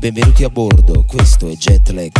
Benvenuti a bordo, questo è Jetlag.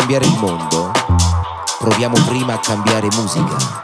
cambiare il mondo, proviamo prima a cambiare musica.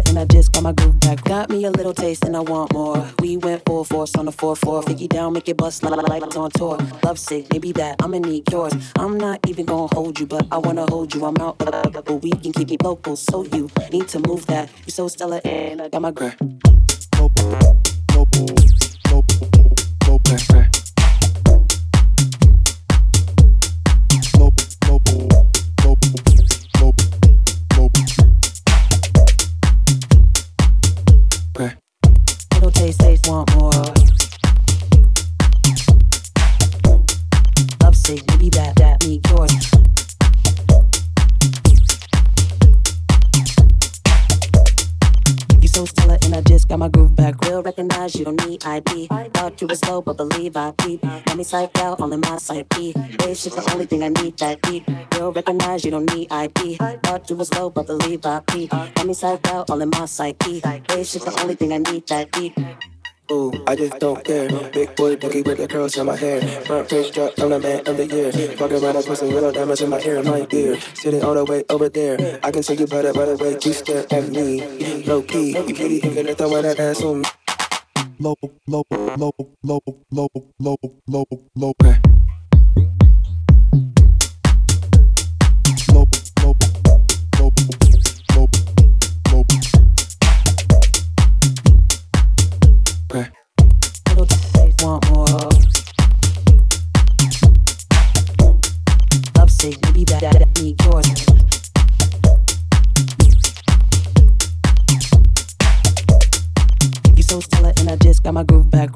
and I just got my groove back. Got me a little taste and I want more. We went full force on the 4-4. Figgy down, make it bust like it's on tour. Love sick, maybe that, I'ma need yours. I'm not even gonna hold you, but I wanna hold you. I'm out, but we can keep it local. So you need to move that. You so stellar and I got my groove. Little taste, want more. Love sick, maybe that need yours. You so stellar and I just got my groove back. Real recognize you don't need ID. Thought you were slow, but believe I peep. Got me psyched out, all in my side P. This shit's the only thing I need that deep. Real recognize you don't need ID. Thought you were slow, but believe I peep. Got me psyched out, all in my side P. This shit's the only thing I need that deep. Ooh, I just don't care. Big boy boogie with the curls in my hair. Front page drop, I'm the man of the year. Walk around and put some little diamonds in my ear, my dear. Sitting all the way over there. I can see you better by the way you stare at me. Low key, you pretty, you can throw that ass on me. Low. Okay. Want more. Love sick, maybe that need yours. You so stellar and I just got my groove back.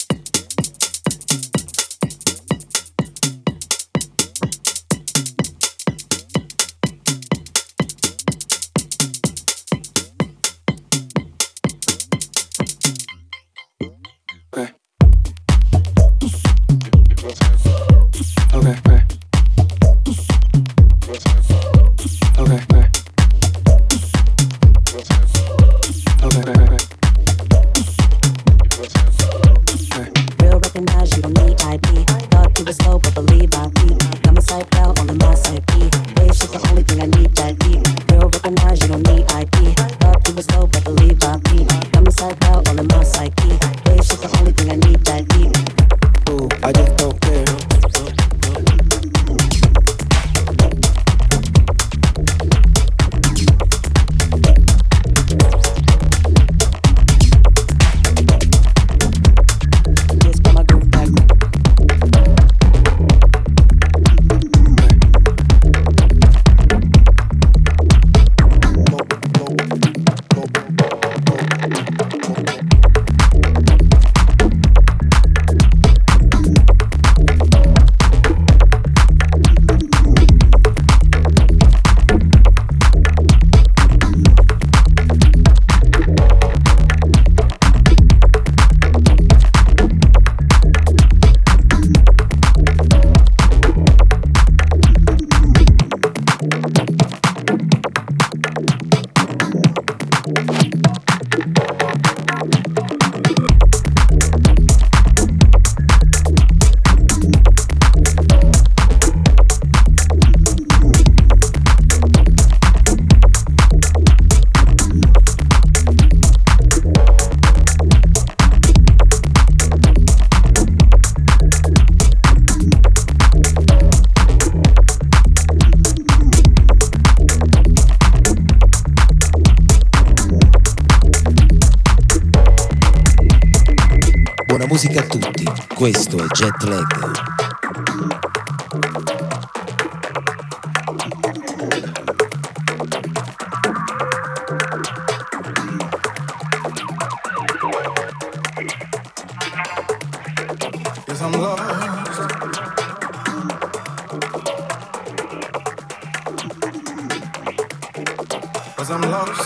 Buona musica a tutti, questo è Jet Lag. I'm lost. Cause I'm lost.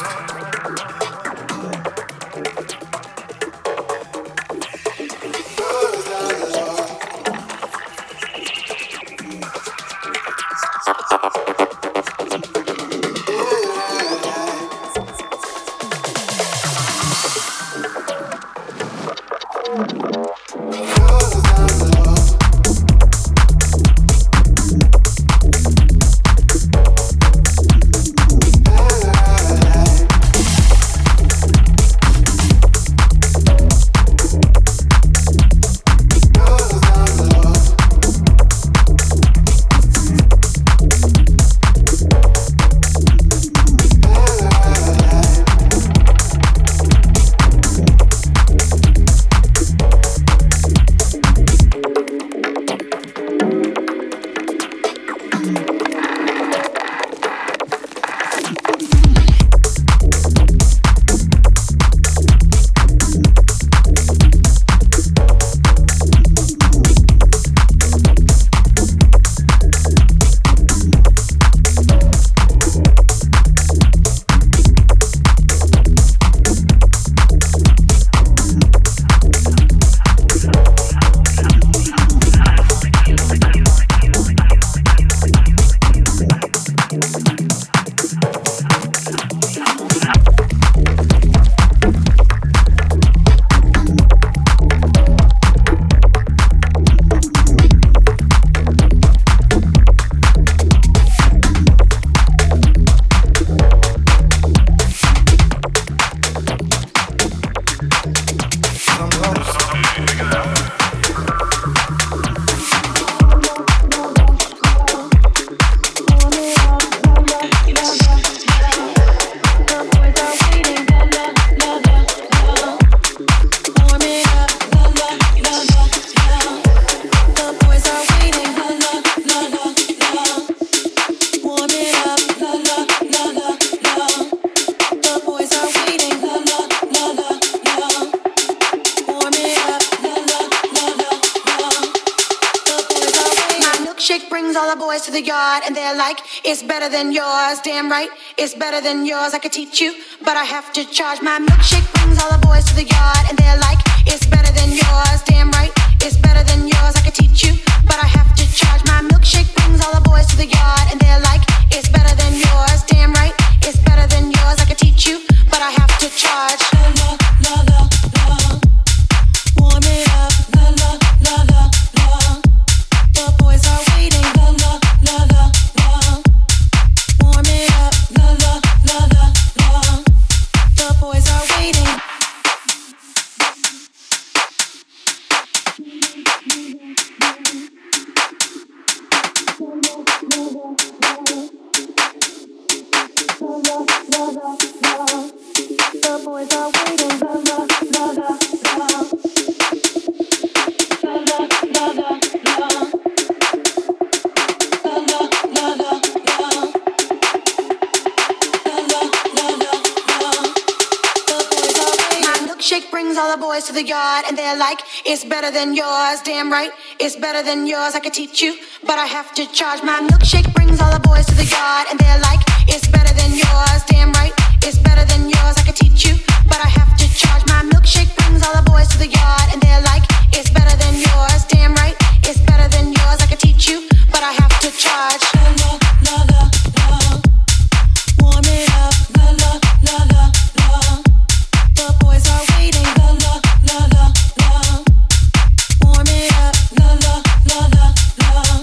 the boys to the yard and they're like, it's better than yours. Damn right, it's better than yours. I could teach you, but I have to charge. My milkshake brings all the boys to the yard and they're like, it's better than yours. Damn right, it's better than yours. I could teach you, but I have to charge. My milkshake brings all the boys to the yard and they're like, it's better than yours. Damn right, it's better than yours. I could teach you, but I have to charge. La la la la, warm it up. La la la la la, the boys are waiting. La la la la la, warm it up. La la la la la, the boys are waiting. The boys are waiting. La la la la la. La la la la la. La la la la la. La la la la la. The boys are waiting. My milkshake brings all the boys to the yard and they're like, it's better than yours. Damn right, it's better than yours. I could teach you, but I have to charge. My milkshake brings all the boys to the yard and they're like, it's better than yours. Damn right, it's better than yours. I could teach you, but I have to charge. My milkshake brings all the boys to the yard and they're like, it's better than yours. Damn right, it's better than yours. I could teach you, but I have to charge. La la la la la, warm it up. La la la la la, the boys are waiting. La la la la la, warm it up. La la la la la.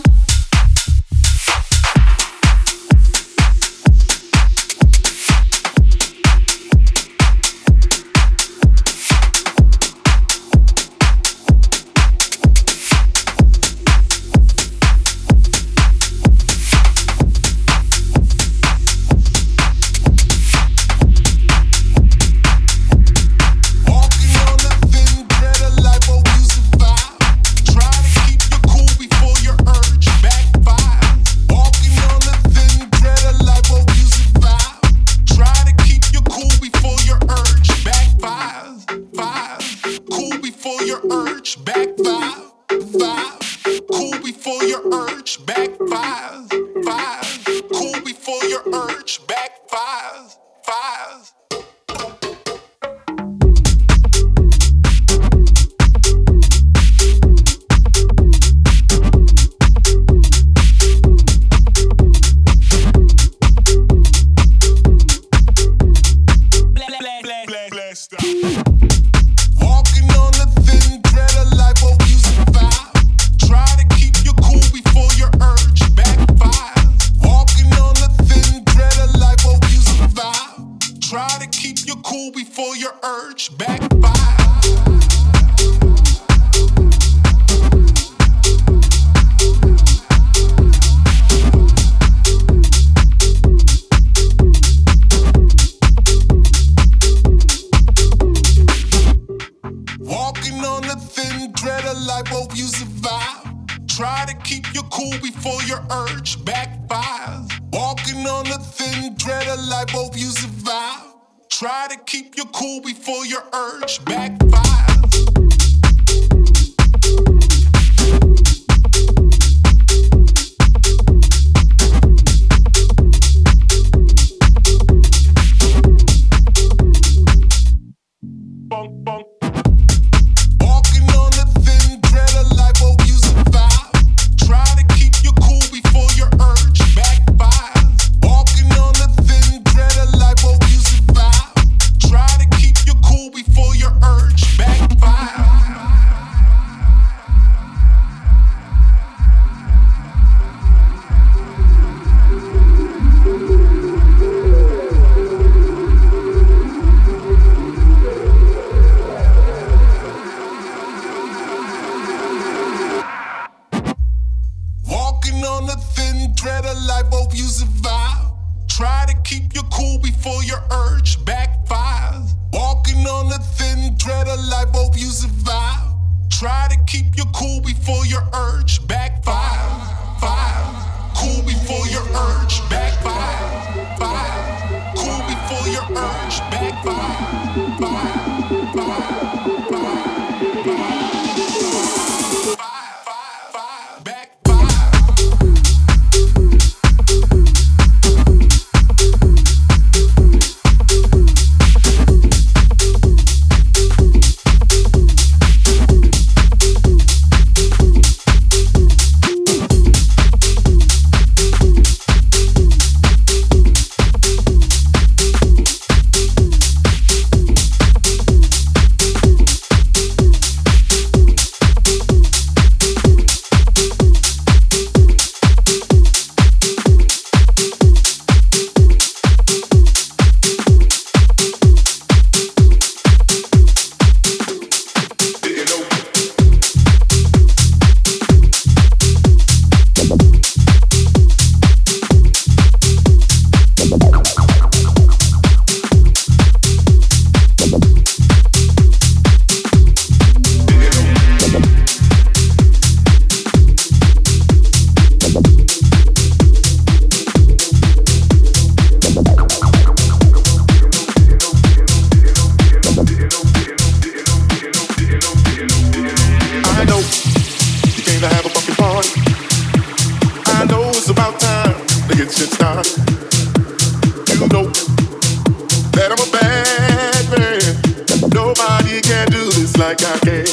Nobody can do this like I can.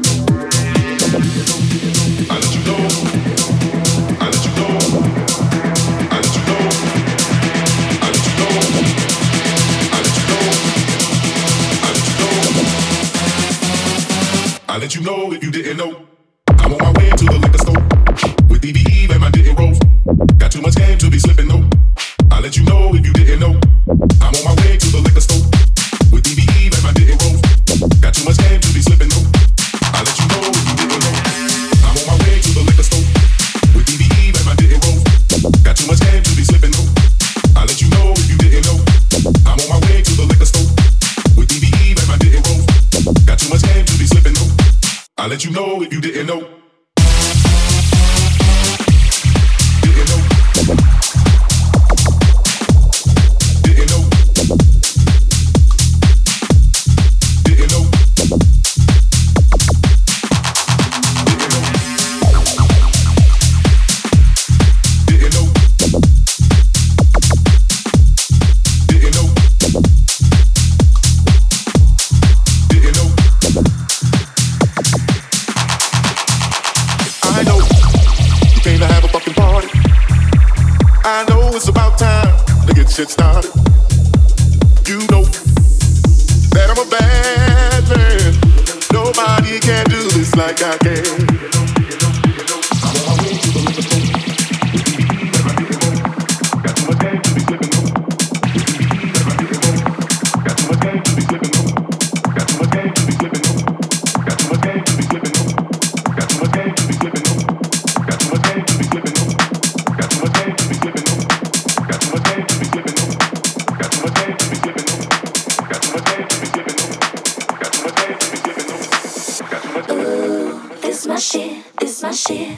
I let you know. I let you know. I let you know. I let you know. I let you know. I let you know. I let you know if you didn't know. I'm on my way to the liquor store with DBE and my didn't roll. Got too much game to be slipping though. I let you know if you didn't know. I'm on my way to the liquor store with DBE and my didn't roll. Got too much game to be slipping though. I let you know if you didn't know. I'm on my way to the liquor store with DBE and my didn't roll. Got too much game to be slipping though. I let you know if you didn't know. I'm on my way to the liquor store with DBE and my didn't roll. Got too much game to be slipping though. I let you know if you didn't know. Didn't know. Didn't know. Didn't know. Didn't know. Didn't know. Didn't know. I know you came to have a fucking party. I know it's about time to get shit started. You know that I'm a bad man. Nobody can do this like I can. I'm on my way to the liquor store. Got too much game to be slipping though. Got too much game to be slipping though. Got too much game to be slipping though. Got too much game to be slipping though. Got too much game to be slipping though. Got too much game to be slipping though. Got too much game to be slipping though. Got too much game to be slipping though. Got too much game to be slipping though. Got too much game to be slipping though. Got too much game to be slipping though. Got too much. This my shit. This my shit.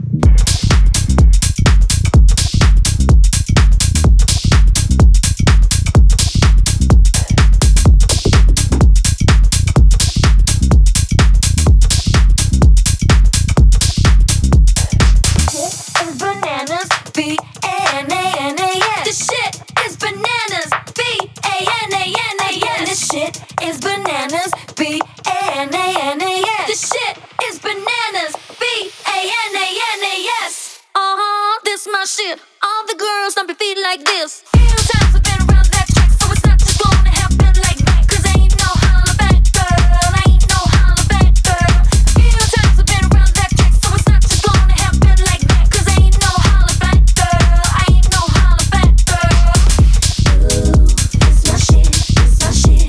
Bananas, B-A-N-A-N-A-S. This shit is bananas, B-A-N-A-N-A-S. This shit is bananas, B-A-N-A-N-A-S. This shit is bananas, B-A-N-A-N-A-S. This my shit. All the girls don't be feeling like this. Few times I've been around that track, so it's not just gonna happen like that. 'Cause ain't no holla back, girl. Ain't no holla back, girl. Few times I've been around that track, so it's not just gonna happen like that. 'Cause ain't no holla back, girl. Ain't no holla back, girl. This my shit. This my shit.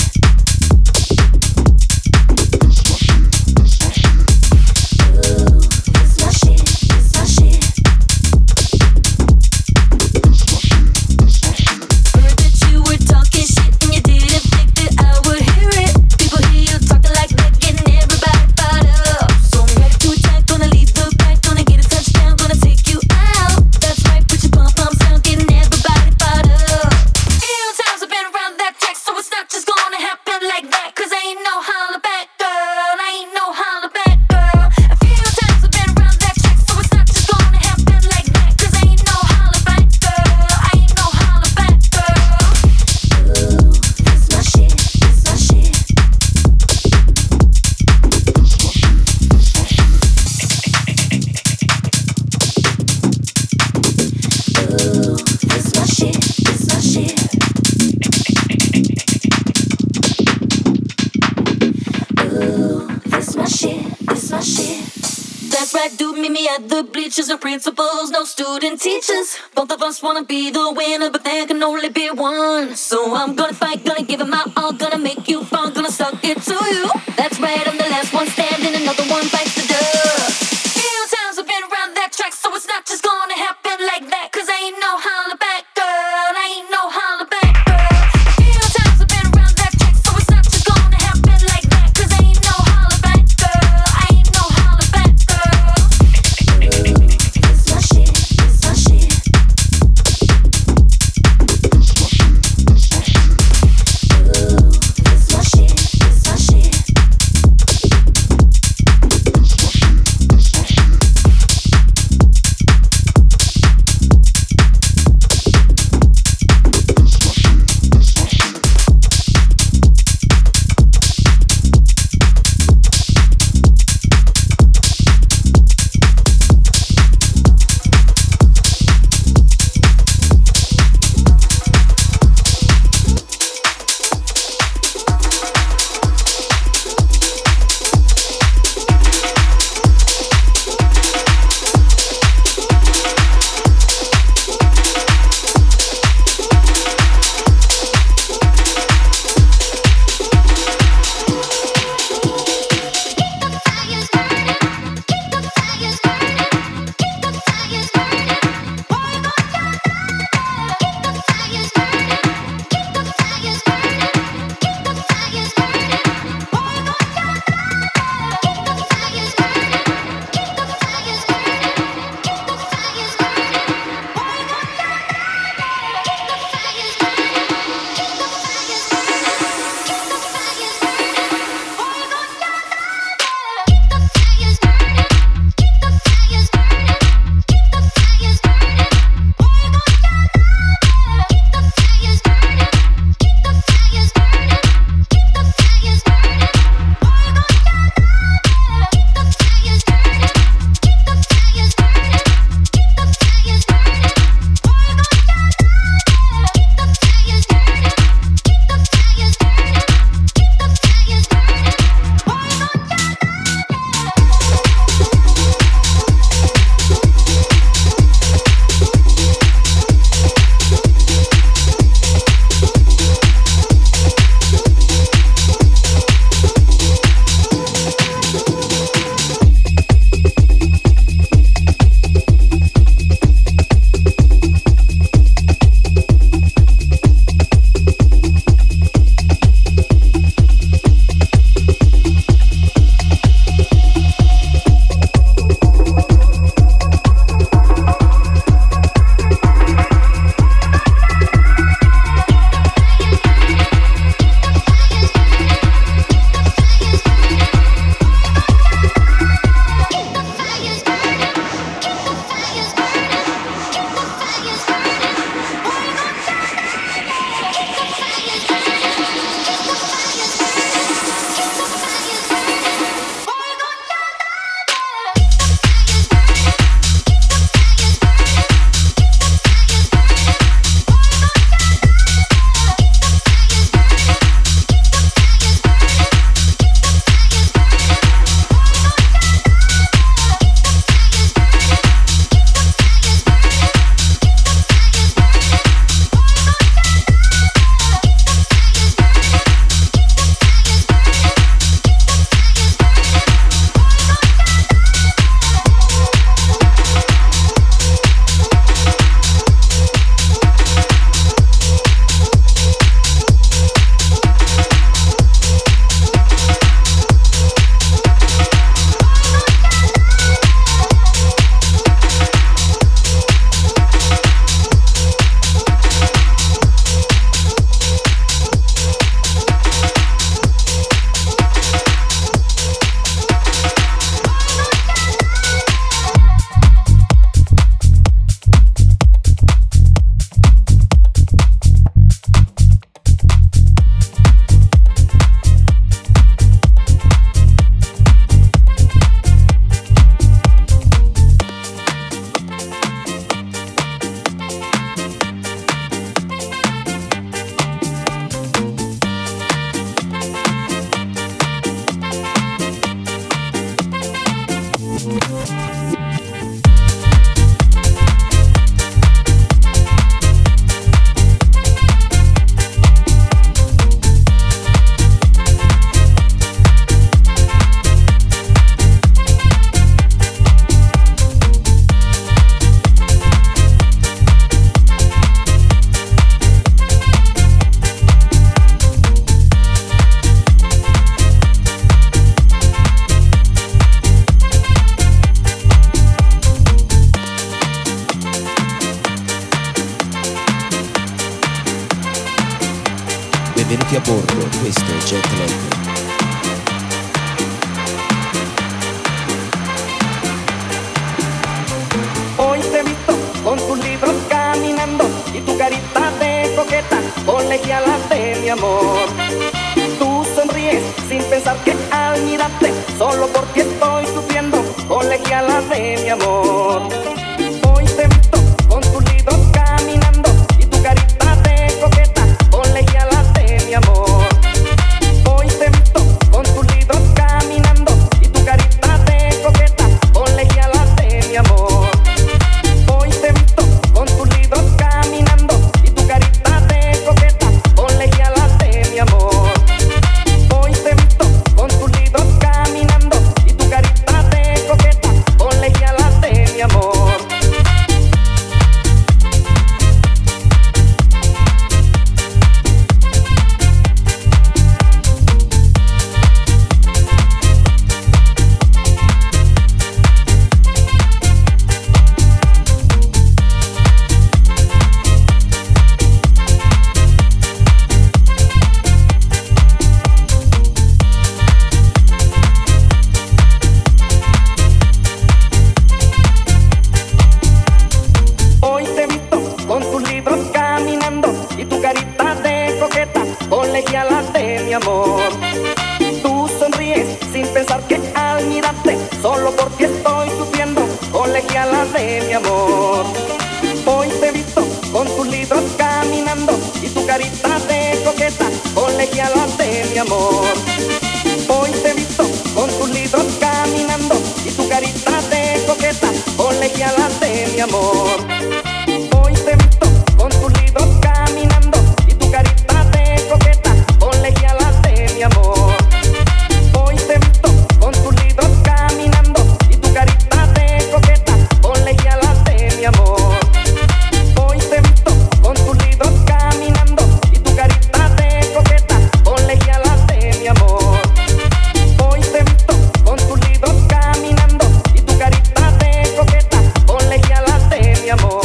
This my shit. This my shit. Heard that you were talking shit and you didn't think that I would hear it. People hear you talking like that, getting everybody fired up. So I'm ready to attack, gonna lead the pack, gonna get a touchdown, gonna take you out. That's right, put your pom-poms down, getting everybody fired up. Few times I've been around that track, so it's not just gonna happen like that. 'Cause ain't no holla back, girl. Ain't no holla back, girl. A few times I've been around that track, so it's not just gonna happen like that. 'Cause ain't no holla back, girl. Ain't no holla back, girl. This my shit. This my shit. This my shit. This my shit. This my shit. This my shit. That's right, dude, meet me at the bleachers. No principals, no student teachers. Both of us wanna be the winner, but there can only be one. So I'm gonna fight, gonna give it my all, gonna make you fall, gonna suck it to you. That's right, I'm the last one standing, another one bites the dust. Few times I've been around that track, so it's not just gonna happen like that. 'Cause ain't no holla back, girl. Ain't no holla back, girl. Few times I've been around that track, so it's not just gonna happen like that. 'Cause ain't no holla back, girl. Ain't no holla back, girl. This my shit. This my shit. This my shit. This my shit. colegialas de mi amor. Tú sonríes sin pensar que al mirarte solo por ti estoy sufriendo, colegialas de mi amor. Hoy te he visto con tus lidos caminando y tu carita de coqueta, colegialas de mi amor. Hoy te he visto con tus lidos caminando y tu carita de coqueta, colegialas de mi amor. Hoy te he visto con tus lidos caminando y tu carita de coqueta, colegialas de mi amor. Hoy te he visto con tus lidos caminando y tu carita de coqueta, colegialas de mi amor. Hoy te he visto con tus libros caminando y tu carita de coqueta, colegialas de mi amor. Tú sonríes sin pensar que al mirarte solo por ti estoy sufriendo, colegialas de mi amor. Hoy te he visto con tus libros caminando y tu carita de coqueta, colegialas de mi amor. Hoy te he visto con tus libros caminando y tu carita de coqueta, colegialas de mi amor. Hoy te he visto con tus libros caminando y tu carita de coqueta, colegialas de mi amor. Hoy te he visto con tus libros caminando y tu carita de coqueta, colegialas de mi amor. Hoy te he visto con tus libros caminando y tu carita de coqueta, colegialas de mi amor. Hoy te he visto con tus libros caminando y tu carita de coqueta, colegialas de mi amor.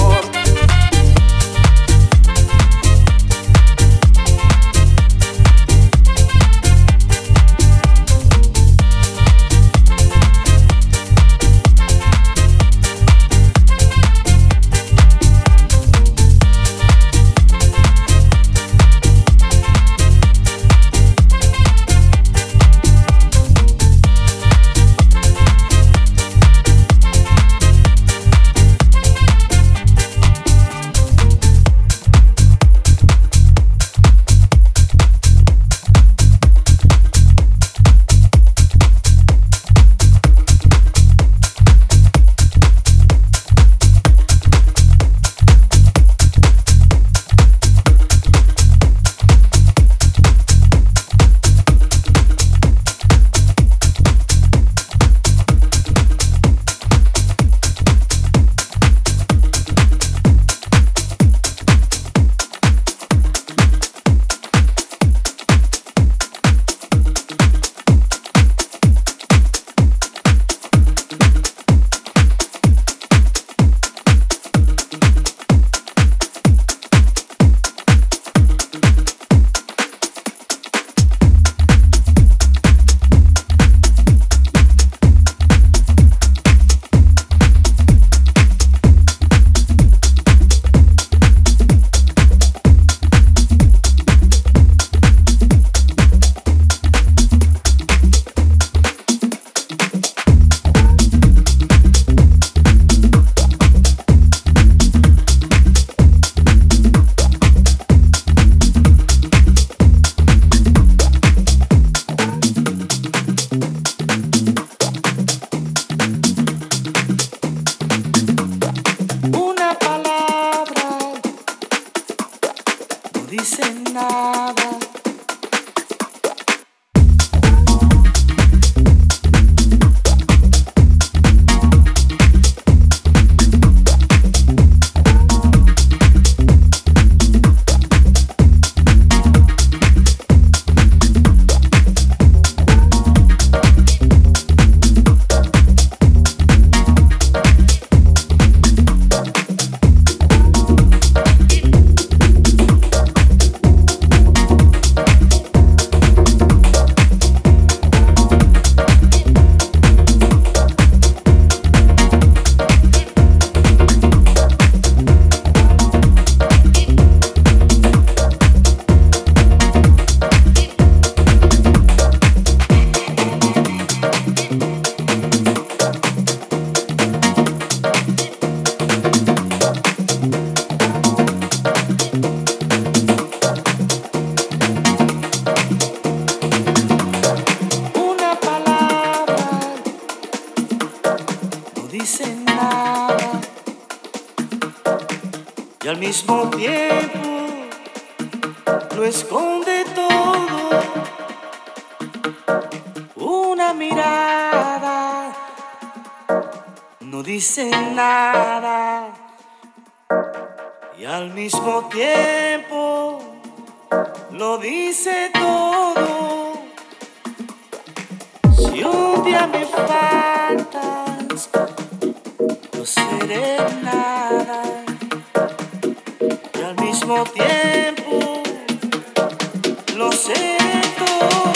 dice nada y al mismo tiempo lo esconde todo. Una mirada no dice nada y al mismo tiempo lo dice todo. Si un día me faltas, no seré nada y al mismo tiempo lo seré todo.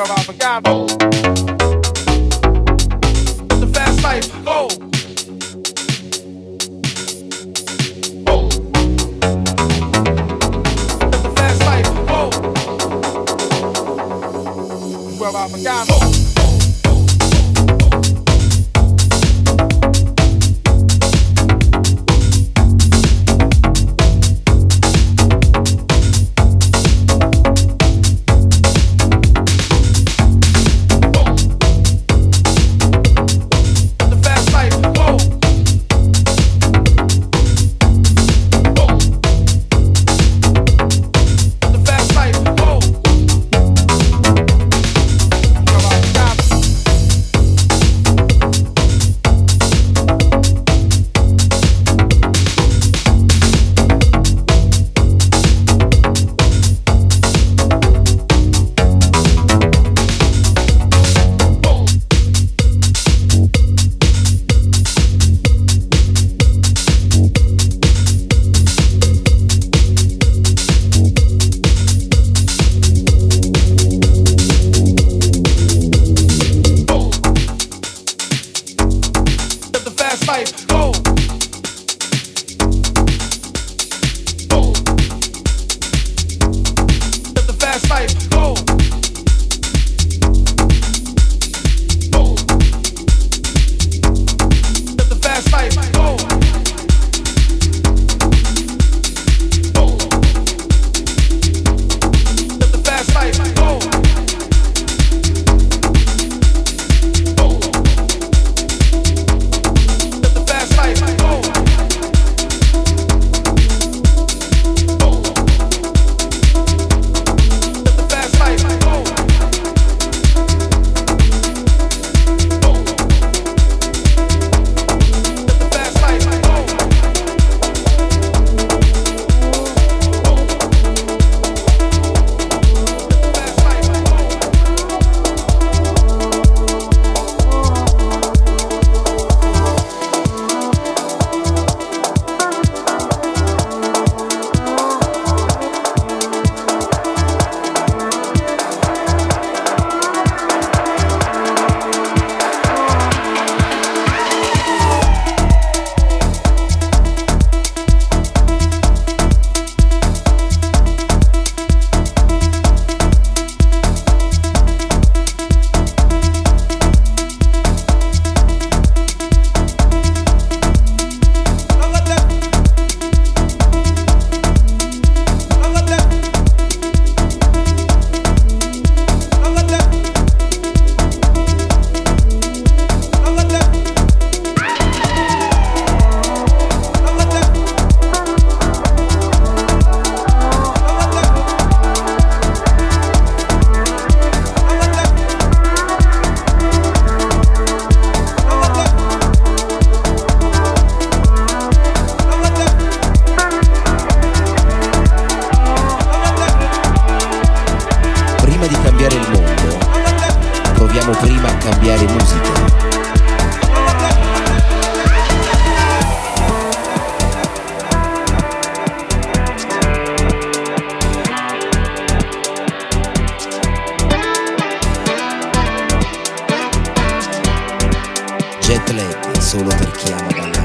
solo per chi ama ballare.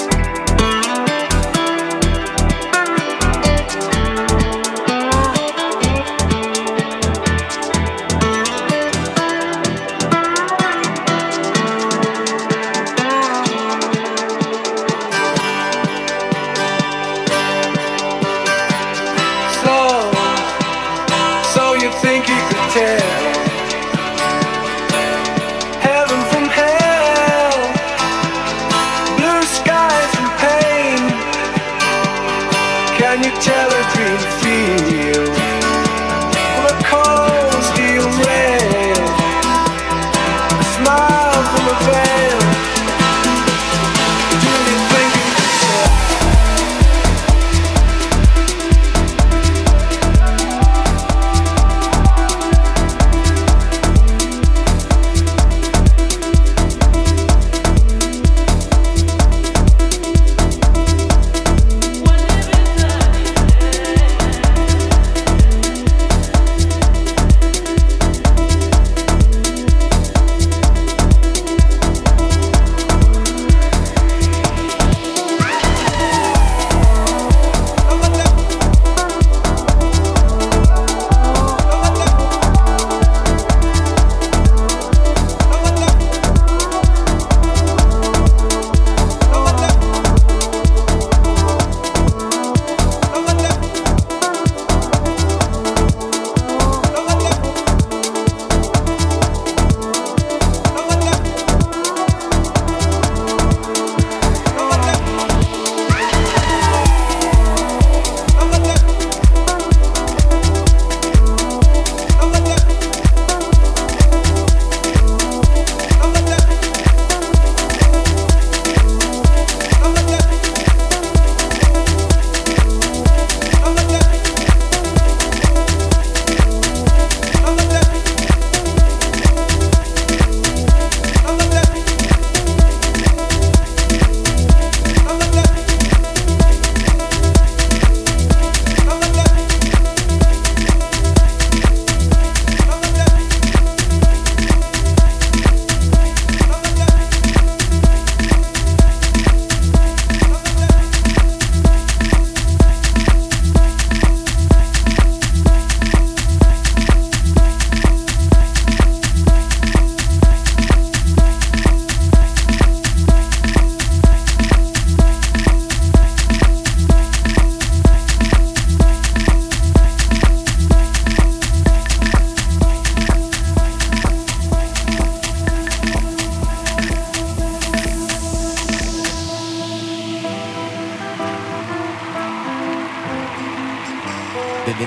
So you think you could tell heaven from hell, blue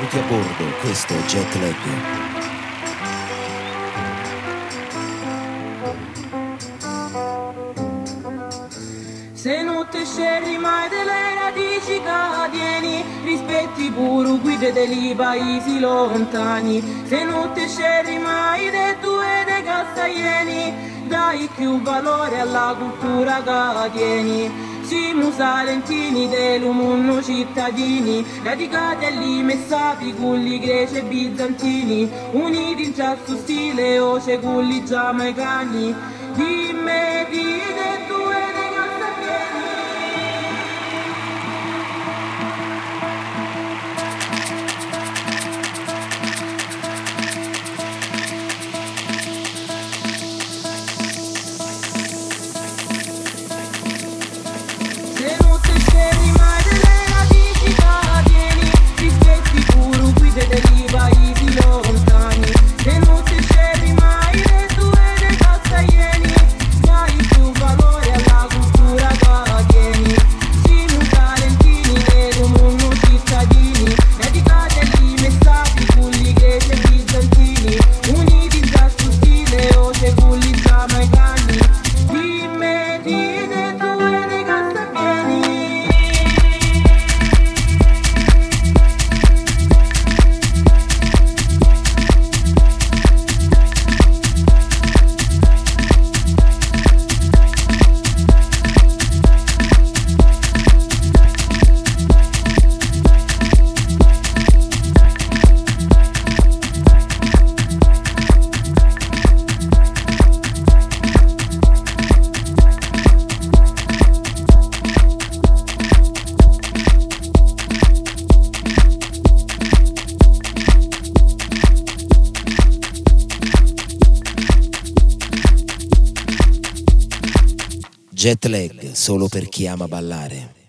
Benvenuti a bordo, questo è Jet Lag. Se non te scegli mai delle radici cadieni, rispetti pure guide dei paesi lontani. Se non te scegli mai dei due dei castaglieni, dai più valore alla cultura che tieni. Siamo salentini dell'umunno cittadini, radicati agli messati culli greci e bizantini, uniti in ciascuno stile o culli giamaicani. Dimmi di due dei castaglieni. Se non te scegli mai delle radici cadieni, rispetti pure guide dei paesi lontani. Se non te scegli mai dei due dei castaglieni, dai più valore alla cultura che tieni. Siamo talentini dell'umunno cittadini, radicati agli messati culli greci e bizantini, uniti in ciascuno stile o culli giamaicani. Dimmi di dei due dei castaglieni. Jet Lag, solo per chi ama ballare.